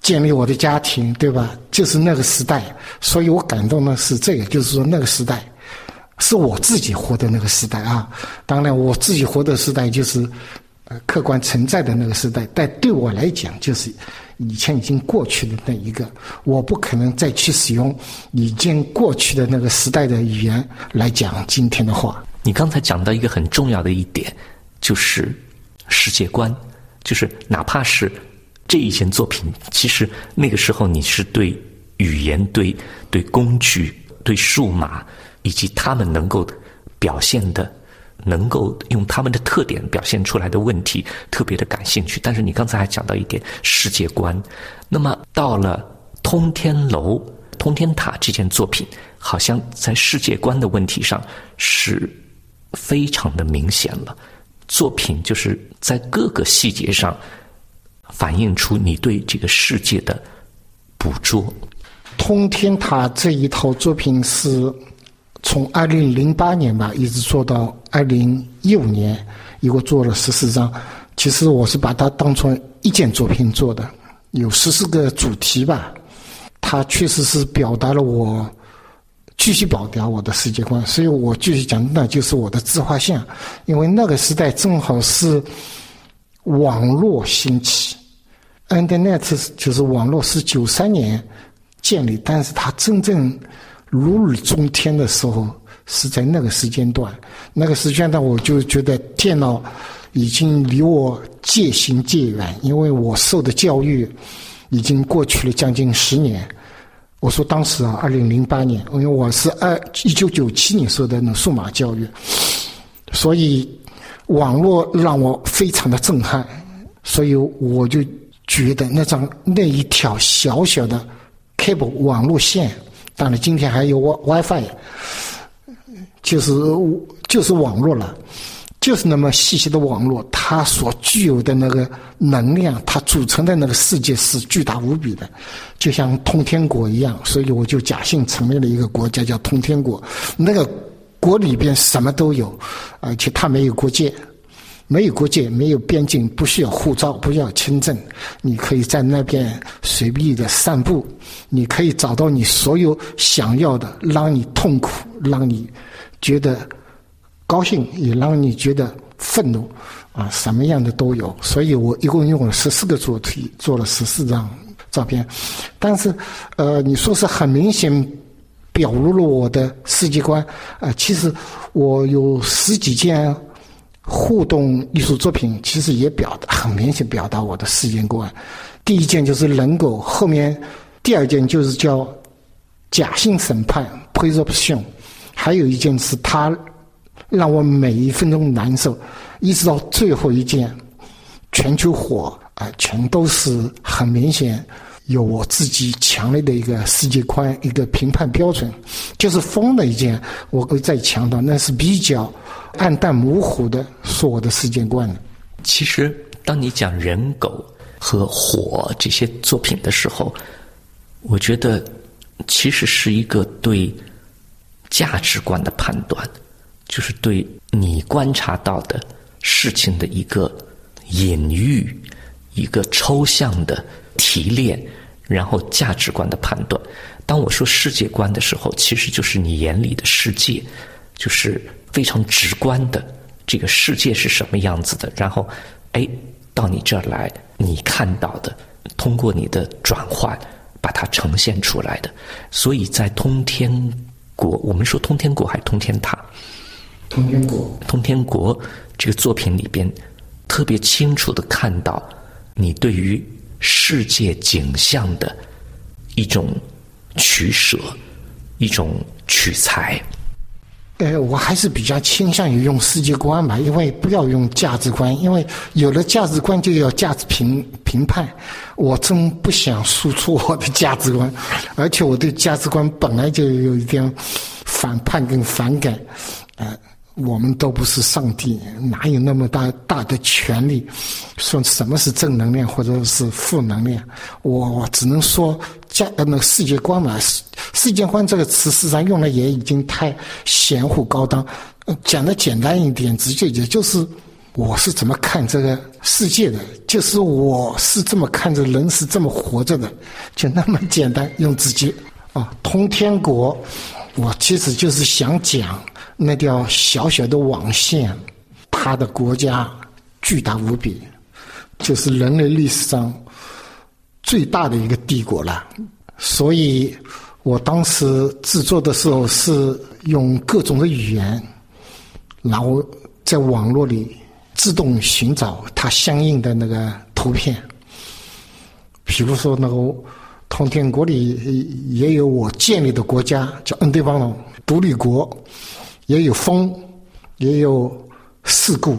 建立我的家庭，对吧？就是那个时代，所以我感动的是这个，就是说那个时代是我自己活的那个时代啊。当然，我自己活的时代就是呃客观存在的那个时代，但对我来讲，就是以前已经过去的那一个，我不可能再去使用已经过去的那个时代的语言来讲今天的话。 你刚才讲到一个很重要的一点，就是世界观，就是哪怕是这一件作品，其实那个时候你是对语言、对对工具、对数码以及他们能够表现的、能够用他们的特点表现出来的问题特别的感兴趣。但是你刚才还讲到一点世界观，那么到了通天楼、通天塔这件作品，好像在世界观的问题上是非常的明显了。作品就是在各个细节上反映出你对这个世界的捕捉。 通天塔这一套作品是从二零零八年吧，一直做到二零一五年，一共做了十四张。其实我是把它当成一件作品做的，有十四个主题吧。它确实是表达了我继续表达我的世界观，所以我继续讲，那就是我的自画像。因为那个时代正好是网络兴起 ，Internet 就是网络是九三年建立，但是它真正如日中天的时候是在那个时间段。那个时间段，我就觉得电脑已经离我渐行渐远，因为我受的教育已经过去了将近十年。我说当时啊，二零零八年，因为我是二一九九七年受的那数码教育，所以网络让我非常的震撼，所以我就觉得那张那一条小小的 cable 网络线，当然今天还有 WiFi， 就是就是网络了。就是那么细细的网络，它所具有的那个能量，它组成的那个世界是巨大无比的，就像通天国一样。所以我就假性成立了一个国家叫通天国。那个国里边什么都有，而且它没有国界，没有国界，没有边境，不需要护照，不需要签证，你可以在那边随意的散步，你可以找到你所有想要的，让你痛苦，让你觉得高兴，也让你觉得愤怒啊，什么样的都有。所以我一共用了十四个主题，做了十四张照片。但是呃你说是很明显表露了我的世界观，呃其实我有十几件互动艺术作品，其实也表达很明显表达我的世界观。第一件就是人狗，后面第二件就是叫假性审判 presumption， 还有一件是他让我每一分钟难受，一直到最后一件全球火啊、呃，全都是很明显有我自己强烈的一个世界观，一个评判标准。就是风的一件，我会再强调，那是比较暗淡模糊的，是我的世界观。 其实当你讲人狗和火这些作品的时候，我觉得其实是一个对价值观的判断，就是对你观察到的事情的一个隐喻，一个抽象的提炼，然后价值观的判断。当我说世界观的时候，其实就是你眼里的世界，就是非常直观的这个世界是什么样子的，然后哎到你这儿来，你看到的通过你的转换把它呈现出来的。所以在通天国，我们说通天国还是通天塔？ 通天国， 通天国这个作品里边，特别清楚地看到你对于世界景象的一种取舍，一种取材。 呃，我还是比较倾向于用世界观吧，因为不要用价值观，因为有了价值观就要价值评评判。我真不想输出我的价值观，而且我对价值观本来就有一点反叛跟反感。呃，我们都不是上帝，哪有那么大大的权利说什么是正能量或者是负能量？我我只能说价呃那个世界观嘛，世界观这个词实际上用的也已经太玄乎高档。呃、讲的简单一点，直接也就是我是怎么看这个世界的，就是我是这么看着人是这么活着的，就那么简单，用自己啊，通天国，我其实就是想讲那条小小的网线，它的国家巨大无比，就是人类历史上最大的一个帝国了。所以我当时制作的时候是用各种的语言，然后在网络里自动寻找它相应的那个图片。比如说那个通天国里也有我建立的国家叫恩对邦龙独立国，也有风，也有事故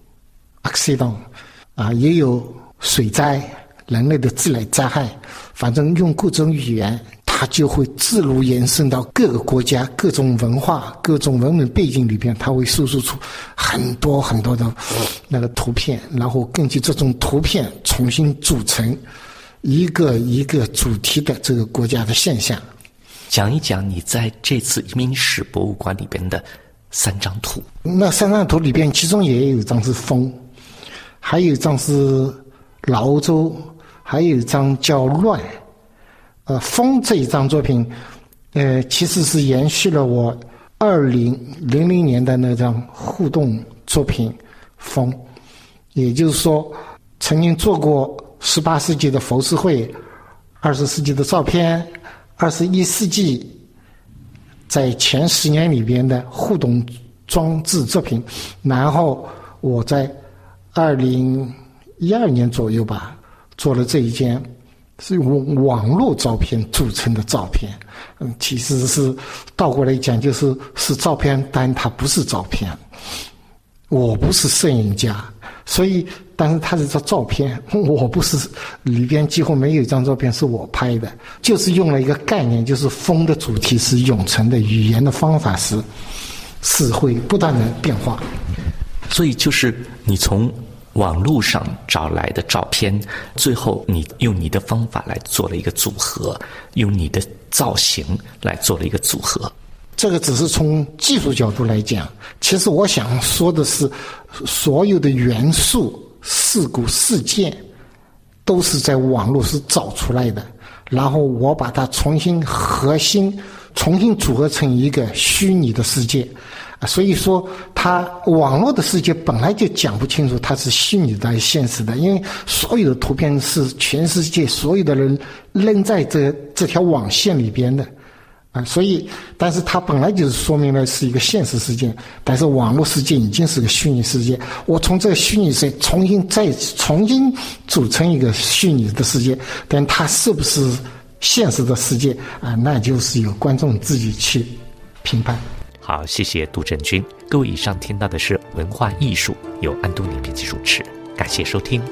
accident 啊，也有水灾，人类的自然灾害，反正用各种语言，它就会自如延伸到各个国家、各种文化、各种文明背景里边，它会输出出很多很多的那个图片，然后根据这种图片重新组成一个一个主题的这个国家的现象。 讲一讲你在这次移民史博物馆里边的三张图。 那三张图里边，其中也有一张是风，还有一张是老欧洲，还有一张叫乱。呃，风这一张作品，呃，其实是延续了我二零零零年的那张互动作品风，也就是说，曾经做过十八世纪的浮世绘，二十世纪的照片，二十一世纪在前十年里边的互动装置作品，然后我在二零一二年左右吧，做了这一件是用网络照片组成的照片。嗯，其实是倒过来讲，就是是照片，但它不是照片。我不是摄影家，所以但是它是张照片，我不是，里边几乎没有一张照片是我拍的，就是用了一个概念，就是风的主题是永存的，语言的方法是是会不断的变化。 所以就是你从网络上找来的照片，最后你用你的方法来做了一个组合，用你的造型来做了一个组合。 这个只是从技术角度来讲，其实我想说的是，所有的元素、事故、事件都是在网络是找出来的，然后我把它重新核心、重新组合成一个虚拟的世界。所以说它网络的世界本来就讲不清楚它是虚拟的还是现实的，因为所有的图片是全世界所有的人扔在这这条网线里边的啊，所以但是它本来就是说明了是一个现实世界，但是网络世界已经是个虚拟世界，我从这个虚拟世界重新再重新组成一个虚拟的世界，但它是不是现实的世界啊，那就是由观众自己去评判。 好，谢谢杜振军。各位，以上听到的是文化艺术，由安东尼编辑主持，感谢收听。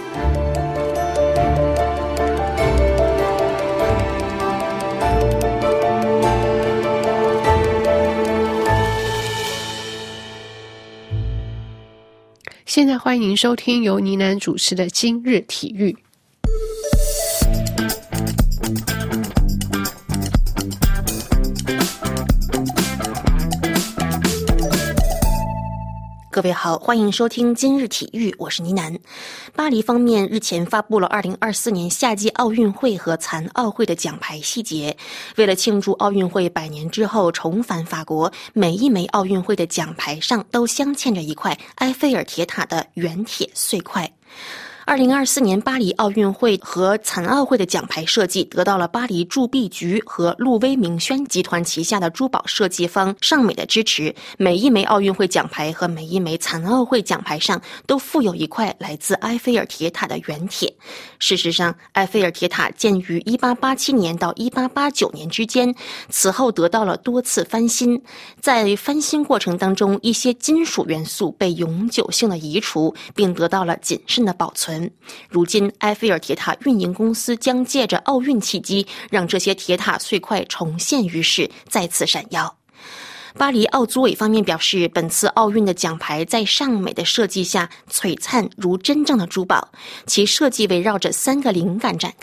现在欢迎收听由倪楠主持的今日体育。 各位好，欢迎收听今日体育，我是倪楠。巴黎方面日前发布了二零二四年夏季奥运会和残奥会的奖牌细节。为了庆祝奥运会百年之后重返法国，每一枚奥运会的奖牌上都镶嵌着一块埃菲尔铁塔的原铁碎块。二零二四年巴黎奥运会和残奥会的奖牌设计得到了巴黎铸币局和路威明轩集团旗下的珠宝设计方尚美的支持。每一枚奥运会奖牌和每一枚残奥会奖牌上都附有一块来自埃菲尔铁塔的原铁。事实上，埃菲尔铁塔建于一八八七年到一八八九年之间，此后得到了多次翻新。在翻新过程当中，一些金属元素被永久性的移除，并得到了谨慎的保存。如今埃菲尔铁塔运营公司将借着奥运契机，让这些铁塔碎块重现于世，再次闪耀。巴黎奥组委方面表示，本次奥运的奖牌在尚美的设计下璀璨如真正的珠宝，其设计围绕着三个灵感展开。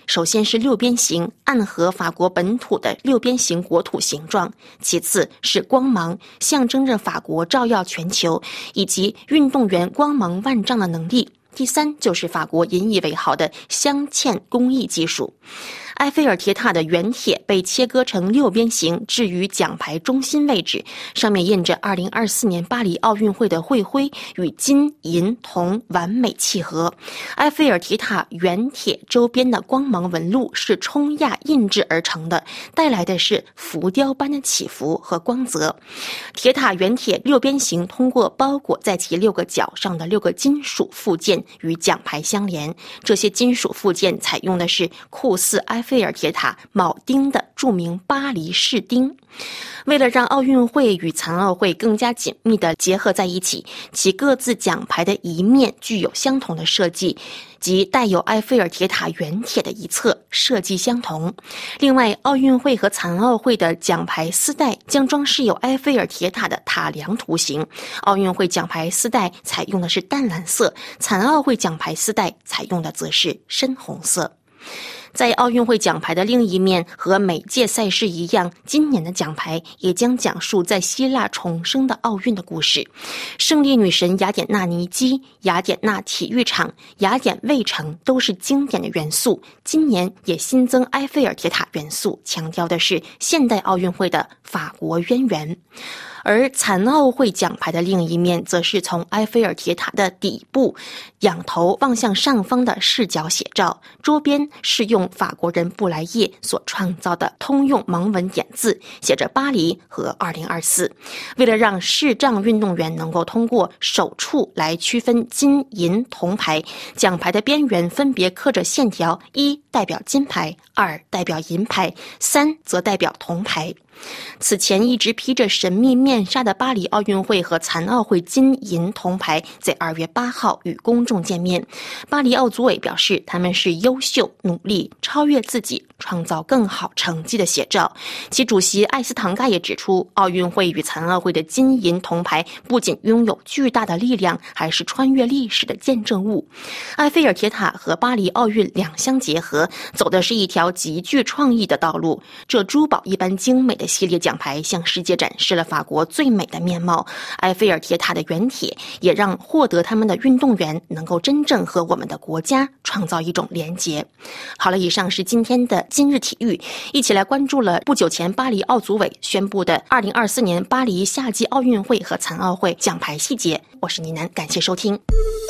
首先是六边形，暗合法国本土的六边形国土形状；其次是光芒，象征着法国照耀全球以及运动员光芒万丈的能力；第三就是法国引以为豪的镶嵌工艺技术。埃菲尔铁塔的圆铁被切割成六边形，置于奖牌中心位置，上面印着二零二四年巴黎奥运会的会徽，与金、银、铜完美契合。埃菲尔铁塔圆铁周边的光芒纹路是冲压印制而成的，带来的是浮雕般的起伏和光泽。铁塔圆铁六边形通过包裹在其六个角上的六个金属附件与奖牌相连，这些金属附件采用的是酷似埃菲尔铁塔铆钉的著名巴黎士钉。为了让奥运会与残奥会更加紧密地结合在一起，其各自奖牌的一面具有相同的设计，即带有埃菲尔铁塔圆铁的一侧设计相同。另外，奥运会和残奥会的奖牌丝带将装饰有埃菲尔铁塔的塔梁图形。奥运会奖牌丝带采用的是淡蓝色，残奥会奖牌丝带采用的则是深红色。在奥运会奖牌的另一面，和每届赛事一样，今年的奖牌也将讲述在希腊重生的奥运的故事。胜利女神雅典娜尼基、雅典娜体育场、雅典卫城都是经典的元素，今年也新增埃菲尔铁塔元素，强调的是现代奥运会的法国渊源。而残奥会奖牌的另一面则是从埃菲尔铁塔的底部仰头望向上方的视角写照，桌边是用法国人布莱叶所创造的通用盲文点字，写着巴黎和二零二四。为了让视障运动员能够通过手触来区分金银铜牌，奖牌的边缘分别刻着线条，一代表金牌，二代表银牌，三则代表铜牌。此前一直披着神秘面纱的巴黎奥运会和残奥会金银铜牌在二月八号与公众见面。巴黎奥组委表示，他们是优秀、努力、超越自己、创造更好成绩的写照。其主席艾斯唐盖也指出，奥运会与残奥会的金银铜牌不仅拥有巨大的力量，还是穿越历史的见证物。埃菲尔铁塔和巴黎奥运两相结合，走的是一条极具创意的道路。这珠宝一般精美的系列奖牌向世界展示了法国最美的面貌。埃菲尔铁塔的圆铁也让获得他们的运动员能够真正和我们的国家创造一种连结。好了，以上是今天的今日体育，一起来关注了不久前巴黎奥组委宣布的二零二四年巴黎夏季奥运会和残奥会奖牌细节。我是倪楠，感谢收听。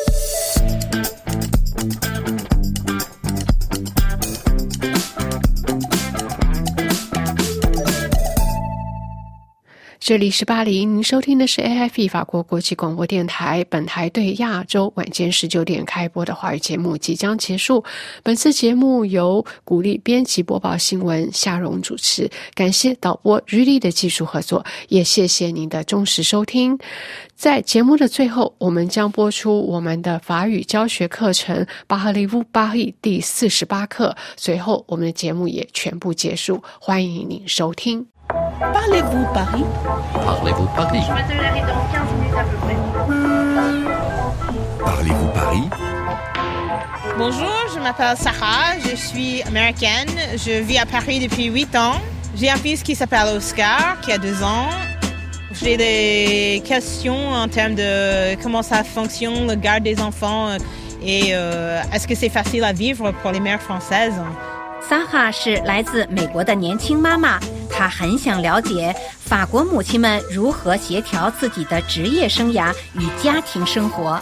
这里是巴黎，您收听的是 A F P 法国国际广播电台。本台对亚洲晚间十九点开播的华语节目即将结束。本次节目由鼓励编辑播报新闻夏蓉主持，感谢导播于丽的技术合作，也谢谢您的忠实收听。在节目的最后，我们将播出我们的法语教学课程巴赫利夫巴黎第四十八课，随后我们的节目也全部结束，欢迎您收听。 Parlez-vous Paris? Parlez-vous Paris? Je m'attendrai dans quinze minutes à peu près. Parlez-vous Paris? Bonjour, je m'appelle Sarah, je suis américaine, je vis à Paris depuis huit ans. J'ai un fils qui s'appelle Oscar, qui a deux ans. J'ai des questions en termes de comment ça fonctionne, le garde des enfants, et euh, est-ce que c'est facile à vivre pour les mères françaises? 萨哈是来自美国的年轻妈妈，她很想了解法国母亲们如何协调自己的职业生涯与家庭生活。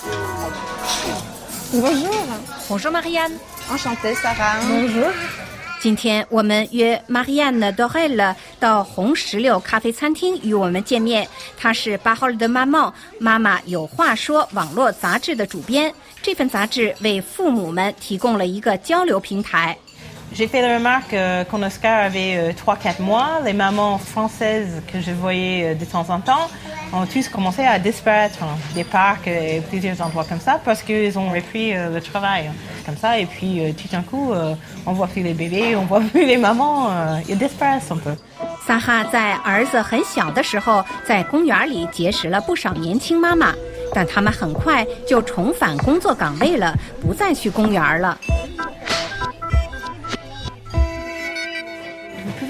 Bonjour, Bonjour Marianne. Enchantée Sarah. Bonjour. 今天我们约 Marianne Dorel 到红石榴咖啡餐厅与我们见面。她是巴赫尔的妈妈，妈妈有话说网络杂志的主编。这份杂志为父母们提供了一个交流平台。 J'ai fait la remarque euh, quand Oscar avait euh, trois quatre mois, les mamans françaises que je voyais euh, de temps en temps ont tous commencé à disparaître hein, des parcs et plusieurs endroits comme ça parce qu'ils ont repris euh, le travail hein, comme ça. Et puis euh, tout d'un coup, euh, on voit plus les bébés, on voit plus les mamans, euh, ils disparaissent un peu. 萨哈在儿子很小的时候，在公园里结识了不少年轻妈妈，但他们很快就重返工作岗位了，不再去公园了。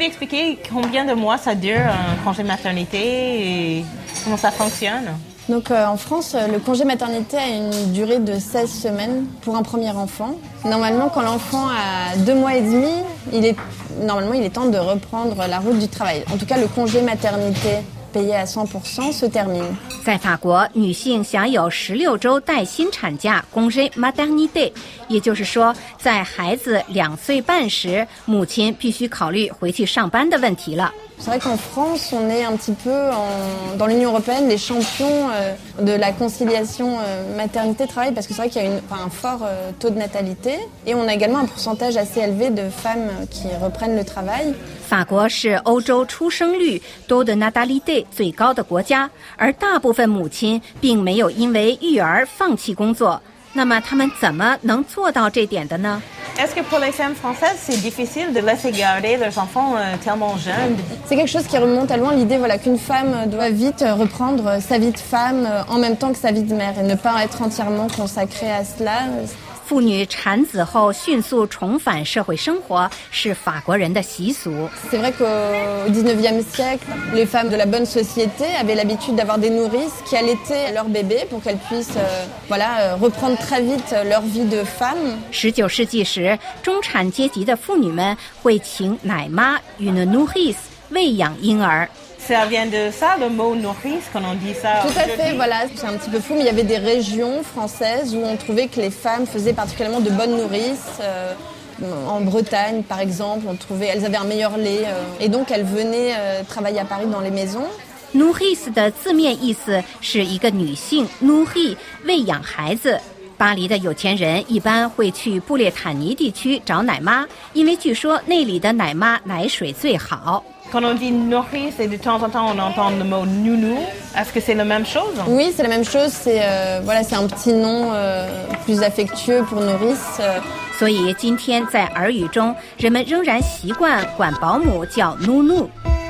pouvez expliquer combien de mois ça dure un congé maternité et comment ça fonctionne? Donc euh, en France, le congé maternité a une durée de seize semaines pour un premier enfant. Normalement, quand l'enfant a deux mois et demi, il est, normalement, il est temps de reprendre la route du travail. En tout cas, le congé maternité payé à cent pour cent se termine. 在法国，女性享有十六周带薪产假 congé maternité， 也就是说，在孩子两岁半时，母亲必须考虑回去上班的问题了。 C'est vrai qu'en France, on est un petit peu, en, dans l'Union européenne, les champions euh, de la conciliation euh, maternité-travail, parce que c'est vrai qu'il y a une, enfin, un fort euh, taux de natalité, et on a également un pourcentage assez élevé de femmes qui reprennent le travail. 法国是欧洲出生率多的 natalité 最高的国家，而大部分母亲并没有因为育儿放弃工作。那么他们怎么能做到这点的呢？ Est-ce que pour les femmes françaises, c'est difficile de laisser garder leurs enfants euh, tellement jeunes? C'est quelque chose qui remonte à loin, l'idée voilà, qu'une femme doit vite reprendre sa vie de femme en même temps que sa vie de mère et ne pas être entièrement consacrée à cela. 妇女产子后迅速重返社会生活是法国人的习俗。 C'est vrai qu'au dix-neuvième siècle, les femmes de la bonne société avaient l'habitude d'avoir des nourrices qui allaitaient leurs bébés pour qu'elles puissent euh, voilà, reprendre très vite leur vie de femme. 十九世纪时，中产阶级的妇女们会请奶妈 une nourrice 喂养婴儿。 Ça vient de ça, le mot nourrice, quand on dit ça. Tout à fait, voilà, c'est un petit peu fou, mais il y avait des régions françaises où on trouvait que les femmes faisaient particulièrement de bonnes nourrices. Euh, en Bretagne, par exemple, on trouvait, elles avaient un meilleur lait, euh, et donc elles venaient euh, travailler à Paris dans les maisons. nourrice 的字面意思是一个女性 nourrir 喂养孩子。 巴黎的有钱人一般会去布列塔尼地区找奶妈，因为据说那里的奶妈奶水最好。 Quand on dit nourrice et de temps en temps on entend le mot nounou, est-ce que c'est la même chose? Oui, c'est la même chose. C'est euh, voilà, c'est un petit nom euh, plus affectueux pour nourrice. Euh. 所以今天在耳语中，人们仍然习惯管保姆叫 nounou。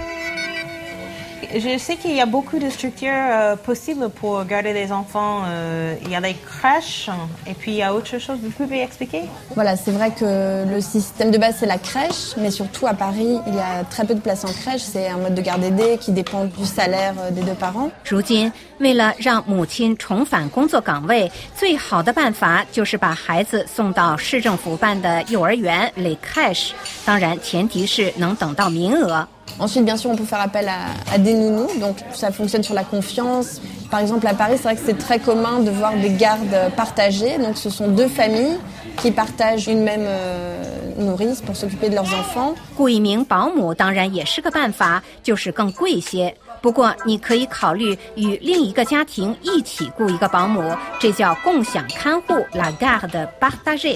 Je sais qu'il y a beaucoup de structures euh, possibles pour garder les enfants. Euh, il y a les crèches et puis il y a autre chose. Vous pouvez expliquer? Voilà, c'est vrai que le système de base c'est la crèche, mais surtout à Paris, il y a très peu de places en crèche. C'est un mode de garde aidé qui dépend du salaire des deux parents. 如今，为了让母亲重返工作岗位，最好的办法就是把孩子送到市政府办的幼儿园 les crèches。当然，前提是能等到名额。 Ensuite, bien sûr, on peut faire appel à, à des nounous, donc ça fonctionne sur la confiance. Par exemple, à Paris, c'est vrai que c'est très commun de voir des gardes partagées. Donc, ce sont deux familles qui partagent une même euh, nourrice pour s'occuper de leurs enfants. 雇一名保姆当然也是个办法，就是更贵些。不过，你可以考虑与另一个家庭一起雇一个保姆，这叫共享看护 la garde partagée。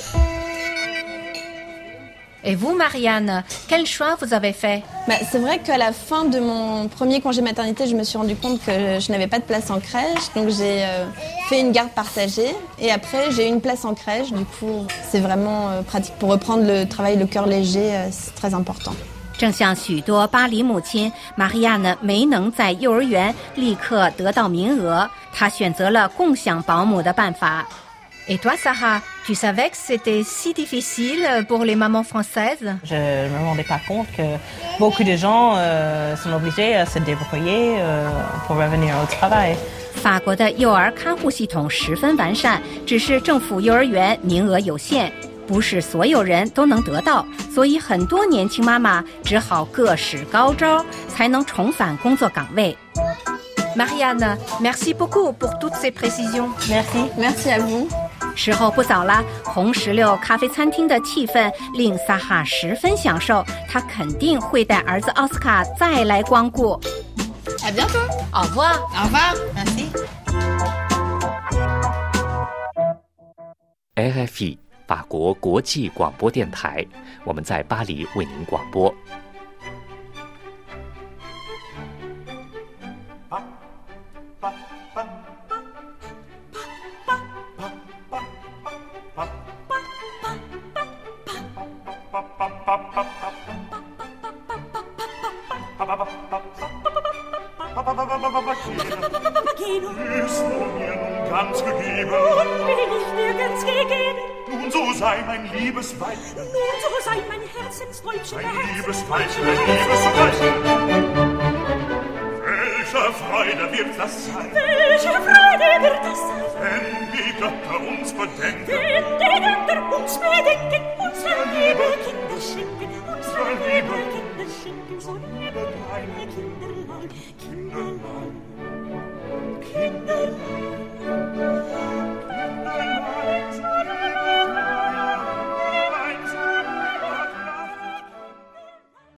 Et vous, Marianne, quel choix vous avez fait? Bah, c'est vrai qu'à la fin de mon premier congé maternité, je me suis rendu compte que je n'avais pas de place en crèche. Donc j'ai euh, fait une garde partagée et après j'ai eu une place en crèche. Du coup, c'est vraiment euh, pratique pour reprendre le travail, le cœur léger, euh, c'est très important. 正像许多巴黎母亲，玛利亚呢没能在幼儿园立刻得到名额，她选择了共享保姆的办法。Et toi, Sarah, tu savais que c'était si difficile pour les mamans françaises? Je ne me rendais pas compte que beaucoup de gens euh, sont obligés à se débrouiller euh, pour revenir au travail. 法国的幼儿看护系统十分完善，只是政府幼儿园名额有限，不是所有人都能得到，所以很多年轻妈妈只好各使高招，才能重返工作岗位。Marianne, merci beaucoup pour toutes ces précisions. Merci, merci à vous. 时候不早了，红石榴咖啡餐厅的气氛令萨哈十分享受，他肯定会带儿子奥斯卡再来光顾。 À bientôt. Au revoir. Au revoir. Merci. R F I 法国国际广播电台，我们在巴黎为您广播。 Willst du mir nun ganz gegeben? Nun will ich dir ganz gegeben. Nun so sei mein liebes Weib. Nun so sei mein Herz Ein liebes Weibchen, ein liebes Weibchen. Welche Freude wird das sein? Welche Freude wird das sein? Wenn die Götter uns bedenken. Wenn die Götter uns bedenken, unsere liebe Kinder schenken, unsere liebe Kinder schenken, so liebe kleine Kinderlein, Kinderlein, Kinderlein.